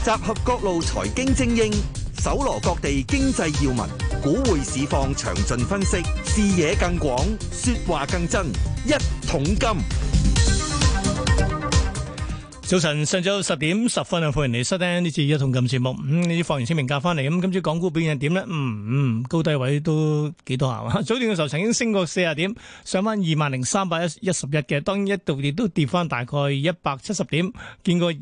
集合各路財經精英，搜羅各地經濟要聞，股匯市況詳盡分析，視野更廣，說話更真。一桶金。 早晨，上晝10:10歡迎你收聽呢次一桶金節目。你放完清明假翻嚟，今朝港股表現點呢？高低位都幾多下。早段嘅時候曾經升過40點，上翻20,311嘅，當然一度亦都跌翻大概170點，見過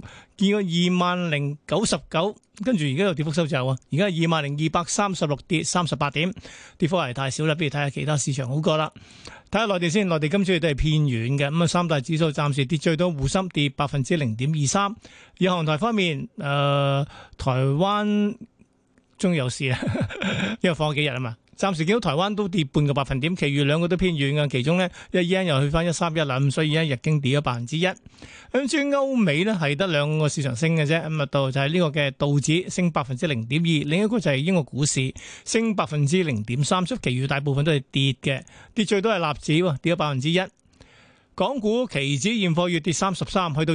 20,099，跟住而家又跌幅收窄啊！而家20,236跌38點，跌幅係太少啦。不如睇下其他市場好過啦。睇下內地先，內地今朝亦都係偏軟嘅，咁啊三大指數暫時跌最多，滬深跌0.23%。以韓台方面，台灣終於有事啦，因為放咗幾日啊嘛。暫時見到台灣都跌半個百分點，其餘兩個都偏軟嘅。其中呢，yen 又去翻131啦，咁所以日經跌咗1%。咁至於歐美呢，係得兩個市場升嘅啫，咁啊就係呢個嘅道指升0.2%，另一個就係英國股市升0.3%，所以其餘大部分都係跌嘅，跌最多係納指喎，跌咗1%。港股期指現貨月跌33，去到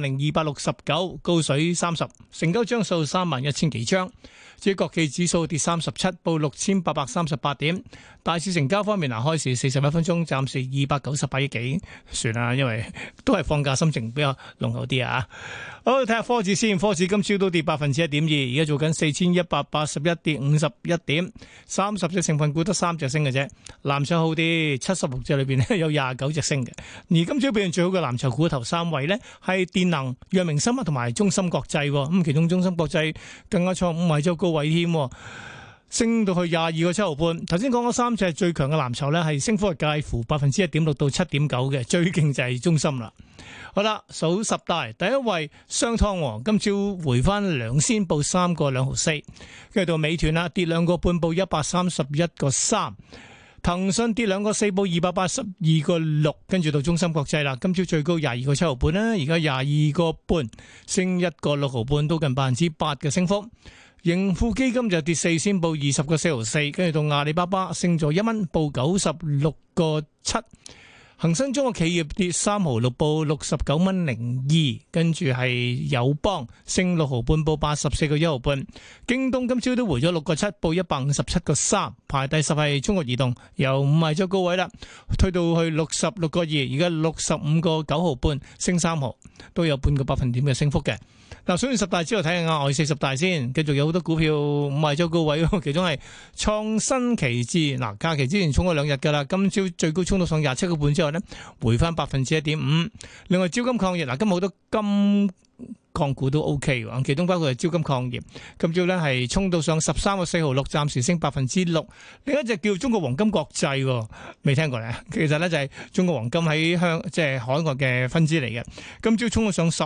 20,269，高水30，成交張數31,000幾張。至於國企指數跌37，報6,838點。大市成交方面，開市41分鐘，暫時298億幾，算啦，因為都係放假心情比較濃厚啲啊。好，睇下科指先，科指今朝都跌1.2%，而家做緊4,181跌51點，30隻成分股得3隻升嘅啫。藍籌好啲，76隻裏邊咧有29隻升嘅。而今朝表現最好嘅藍籌股頭3位呢，係電能、藥明生物同埋中芯國際，咁其中中芯國際更加創5日周高位添，升到去22個7毫半。頭先講嗰3隻最強嘅藍籌呢，係升幅係介乎1.16%到7.9%嘅，最勁就係中芯啦。好啦，數十大第一位商湯，今朝回翻2仙，報3個2毫4。跟住到美團啦，跌2個半，報131個3。騰訊跌2個4，報282個6。跟住到中芯國際啦，今朝最高22個7毫半啦，而家22個半，升1個6毫半，都近8%嘅升幅。盈富基金就跌4仙，報20個4毫4。跟住到阿里巴巴升咗1蚊，報96個7。恒生中國企業跌3毫6，報69蚊02。跟住係友邦升6毫半，報84個1毫半。京東今朝都回咗6個7，報157個3。排第10係中國移動，由5日周高位啦，推到去66個2，而家65個9毫半，升3毫，都有半個百分點嘅升幅嘅。嗱，數完10大之後睇下額外40大先，繼續有好多股票5日周高位，其中係創新期指，嗱，假期之前衝咗2日噶啦，今朝最高衝到上27個半之後呢，回翻1.5%。另外招金礦業，嗱，今日好多金礦股都 OK 喎，其中包括係招金礦業，今朝呢係衝到上13個4毫6，暫時升6%。另一隻叫中國黃金國際，未聽過咧？其實呢就係中國黃金喺即係海外嘅分支嚟嘅，今朝衝到上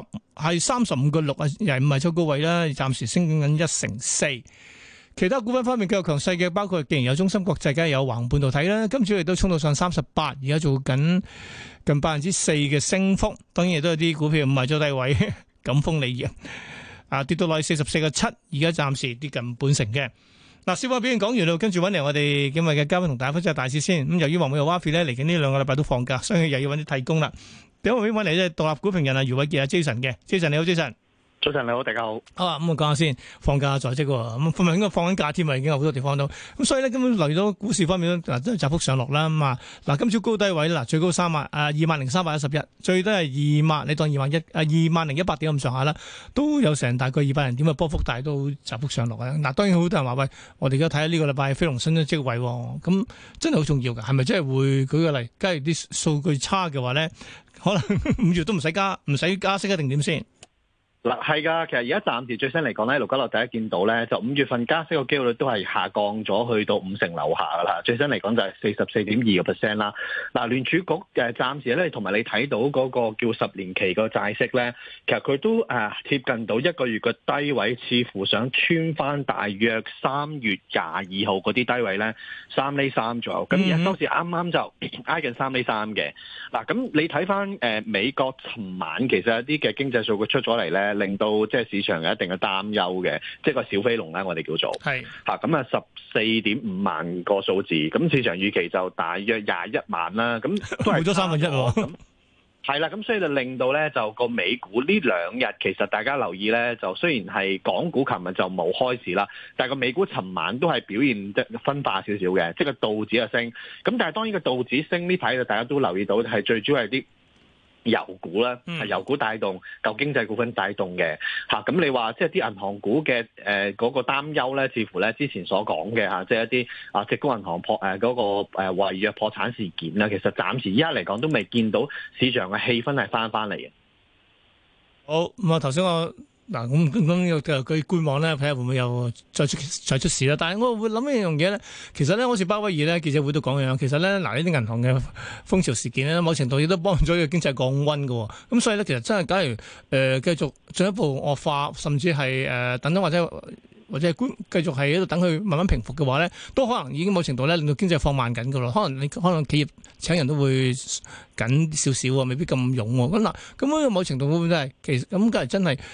35個6啊，又係5日周高位啦，暫時升緊1成4。其他股份方面較強勢嘅，包括既然有中芯國際，梗係有華虹半導體啦，今朝亦都衝到上38，而家做緊近4%嘅升幅。當然亦都有啲股票5日周低位。贛鋒鋰業跌到落去44個7，而家暫時跌近半成嘅。嗱，小話表現講完啦，跟住揾嚟我哋今日嘅嘉賓同大家分析大市先。咁由於黃偉豪 Wafi 咧嚟緊呢2個禮拜都放假，所以又要揾啲替工啦。第一位揾嚟咧獨立股評人余偉傑Jason 嘅，Jason你好，Jason。 早晨你好，大家好。 咁我講下先，放假在即喎，咁咪應該放緊假添啊，已經有好多地方都。咁所以咧，根本嚟到股市方面都係窄幅上落啦。咁嗱，今朝高低位啦，最高20,311，最低係20,000，你當20,100點咁上下啦，都有成大概200人點嘅波幅，但係都窄幅上落啊。嗱，當然好多人話喂，我哋而家睇下呢個禮拜非農新增職位，咁真係好重要㗎，係咪真係會舉個例？假如啲數據差嘅話咧，可能5月都唔使加息一定點先？ 嗱，係噶，其實而家暫時最新嚟講咧，盧家樂第一見到咧，就5月份加息個機會率都係下降咗去到50%樓下噶啦。最新嚟講就係44.2%啦。嗱，聯儲局暫時咧，同埋你睇到嗰個叫10年期個債息咧，其實佢都貼近到1個月嘅低位，似乎想穿翻大約3月22號嗰啲低位咧，3厘3左右。咁而家當時啱啱就挨近3厘3嘅。嗱，咁你睇翻美國尋晚其實有啲嘅經濟數據出咗嚟咧。令到即係市場有一定嘅擔憂嘅，即係個小飛龍咧，我哋叫做係嚇咁啊14.5萬個數字，咁市場預期就大約21萬啦，咁都係冇咗1/3喎。 係啦，咁所以就令到咧就個美股呢兩日其實大家留意咧，就雖然係港股琴日就冇開市啦，但係個美股尋晚都係表現得分化少少嘅，即係個道指嘅升。咁但係當然個道指升呢排就大家都留意到係最主要係啲油股啦，係油股帶動舊經濟股份帶動嘅嚇。咁你話即係啲銀行股嘅嗰個擔憂咧，似乎咧之前所講嘅嚇，即係一啲矽谷銀行嗰個違約破產事件啦，其實暫時依家嚟講都未見到市場嘅氣氛係翻嚟嘅。 好咁啊，頭先我。嗱咁又佢觀望咧，睇下會唔會有再出事啦。但係我會諗一樣嘢咧，其實咧好似鮑威爾咧記者會都講嘅樣，其實咧嗱呢啲銀行嘅風潮事件咧，某程度亦都幫咗個經濟降溫嘅。咁所以咧，其實真係假如繼續進一步惡化，甚至係等等或者係繼續係喺度等佢慢慢平復嘅話咧，都可能已經某程度咧令到經濟放慢緊㗎咯。可能企業請人都會緊少少喎，未必咁勇喎。咁嗱，咁樣某程度會唔會真係其實咁？梗係真係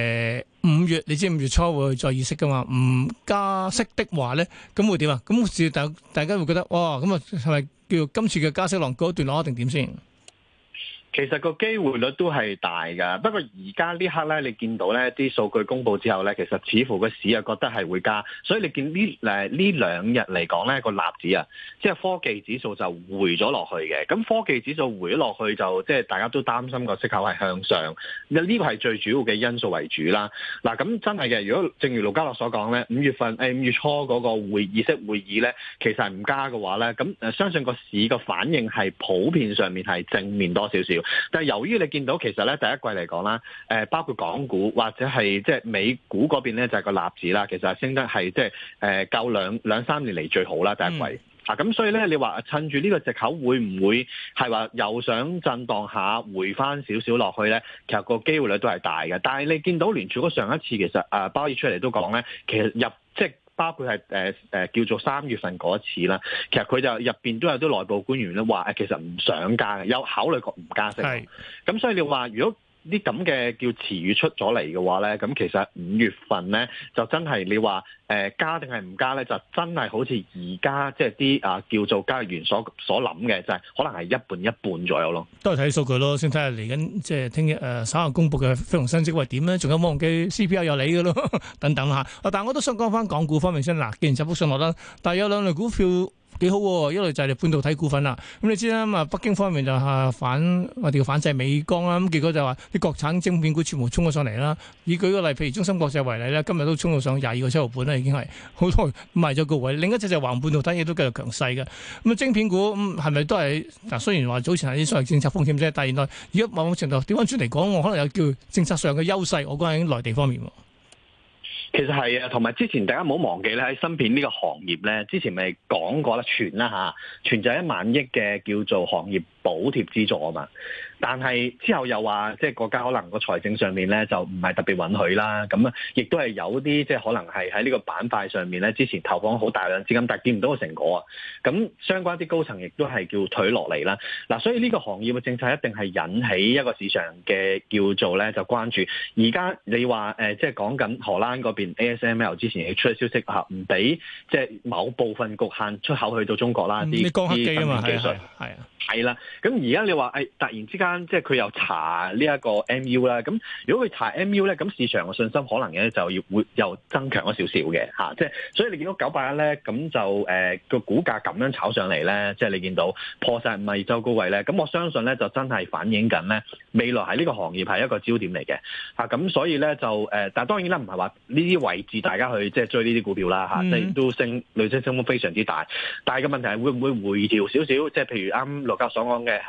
5月，你知5月初會再議息㗎嘛？唔加息的話咧，咁會點啊？咁大家會覺得哇，咁啊係咪叫今次嘅加息浪告一段落一定點先？ 其實個機會率都係大㗎，不過而家呢刻咧，你見到咧啲數據公佈之後咧，其實似乎個市啊覺得係會加，所以你見呢兩日嚟講咧個納指啊，即係科技指數就回咗落去嘅。咁科技指數回咗落去就即係大家都擔心個息口係向上，呢個係最主要嘅因素為主啦。嗱咁真係嘅，如果正如盧家樂所講咧，5月初嗰個議息會議咧，其實係唔加嘅話咧，咁相信個市個反應係普遍上面係正面多少少。但係由於你見到其實咧第一季嚟講啦，包括港股或者係即係美股嗰邊咧就係個納指啦，其實係升得係即係夠兩三年嚟最好啦第一季。咁所以咧你話趁住呢個藉口會唔會係話又想震盪下回翻少少落去咧？其實個機會率都係大嘅。但係你見到聯儲局上一次其實鮑爾出嚟都講咧，其實即係包括係叫做3月份嗰一次啦，其實佢就入邊都有啲內部官員咧話其實唔想加嘅，有考慮過唔加息。咁所以你話如果啲咁嘅叫詞語出咗嚟嘅話咧，咁其實5月份咧就真係你話加定係唔加咧，就真係好似而家即係啲叫做交易員所諗嘅，就係可能係一半一半左右咯。都係睇數據咯，先睇下嚟緊即係聽日稍後公佈嘅非農新職位點咧，仲有冇忘記 CPI 有你嘅咯等等嚇。但係我都想講翻港股方面先嗱，既然窄幅上落啦，但係有兩類股票幾好喎，一類就係半導體股份啦。咁你知啦，咁北京方面就係我哋叫反制美光啦。咁結果就話啲國產晶片股全部衝咗上嚟啦。以舉個例，譬如中芯國際為例咧，今日都衝到上22個7毫半啦，已經係好多賣咗個位。另一隻就係華虹半導體亦都繼續強勢嘅。咁晶片股係咪都係嗱？雖然話早前係啲所謂政策風險啫，但係原來而家某程度調翻轉嚟講，我可能有叫政策上嘅優勢。我講喺內地方面。其實係啊，同埋之前大家唔好忘記咧，喺芯片呢個行業咧，之前咪講過啦，傳啦嚇，傳就係1萬億嘅叫做行業補貼資助啊嘛。但係之後又話，即係國家可能個財政上面咧就唔係特別允許啦。咁啊，亦都係有啲即係可能係喺呢個板塊上面咧，之前投放好大量資金，但係見唔到個成果啊。咁相關啲高層亦都係叫退落嚟啦。嗱，所以呢個行業嘅政策一定係引起一個市場嘅叫做咧就關注。而家你話即係講緊荷蘭嗰邊 ASML 之前亦出咗消息嚇，唔俾即係某部分局限出口去到中國啦。啲光刻機啊嘛，係啊。係啦，咁而家你話突然之間即係佢又查呢一個 MU 啦，咁如果佢查 MU 咧，咁市場嘅信心可能咧就會又增強咗少少嘅嚇，即係所以你見到981咧，咁就個股價咁樣炒上嚟咧，即係你見到破晒52周高位咧，咁我相信咧就真係反映緊咧未來喺呢個行業係一個焦點嚟嘅嚇，咁所以咧就但係當然啦，唔係話呢啲位置大家去即係追呢啲股票啦嚇，即係都累積升幅非常之大，但係個問題係會唔會回調少少，即係譬如啱陸教所講嘅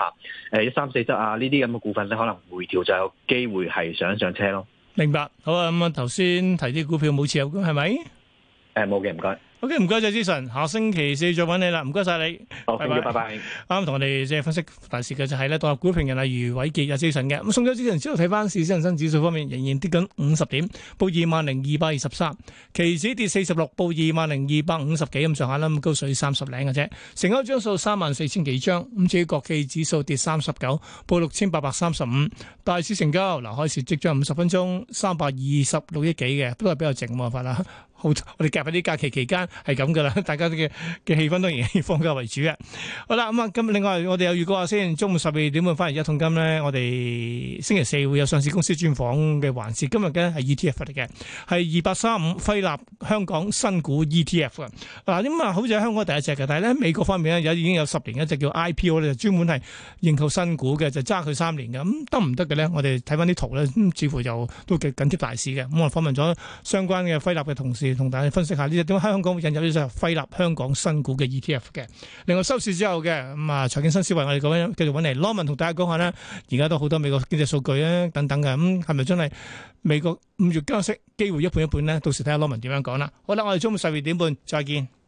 134呢啲咁嘅股份咧，可能回調就有機會係上車咯。明白，好啊，咁頭先提啲股票冇持有嘅係咪？冇嘅，唔該。OK， 唔該曬，Jason，下星期4再揾你啦，唔該曬你。好，拜拜。啱同我哋即係分析大市嘅就係咧，獨立股評人例如偉傑有 Jason 嘅。咁送咗之前之後睇翻市，恒生指數方面仍然跌緊50點，報20,223，期指跌46，報20,250幾咁上下啦，咁高水30零嘅啫。成交張數34,000幾張，咁至於國企指數跌39，報6,835。大市成交嗱，開市即將50分鐘326億幾嘅，都係比較靜喎，發啦。 好，我哋夾喺啲假期期間係咁噶啦，大家嘅氣氛當然以放假為主嘅。好啦，咁啊，咁另外我哋有預告下先，中午12點半翻嚟一桶金咧，我哋星期四會有上市公司專訪嘅環節。今日嘅係 ETF 嚟嘅，係2835輝立香港新股 ETF 嘅。嗱，咁啊，好似喺香港第一隻嘅，但係咧美國方面咧已經有10年一隻叫 IPO 咧，就專門係認購新股嘅，就揸佢3年嘅。咁得唔得嘅咧？我哋睇翻啲圖咧，似乎就都緊貼大市嘅。咁我訪問咗相關嘅輝立嘅同事，同大家分析下呢隻點解香港會引入呢隻輝立香港新股嘅 ETF 嘅。另外收市之後嘅咁啊，財經新思維我哋講緊繼續揾嚟，Norman同大家講下呢，而家都好多美國經濟數據啊等等嘅，咁係咪真係美國5月加息機會一半一半呢？到時睇下 Norman 點樣講啦。好啦，我哋中午12點半再見。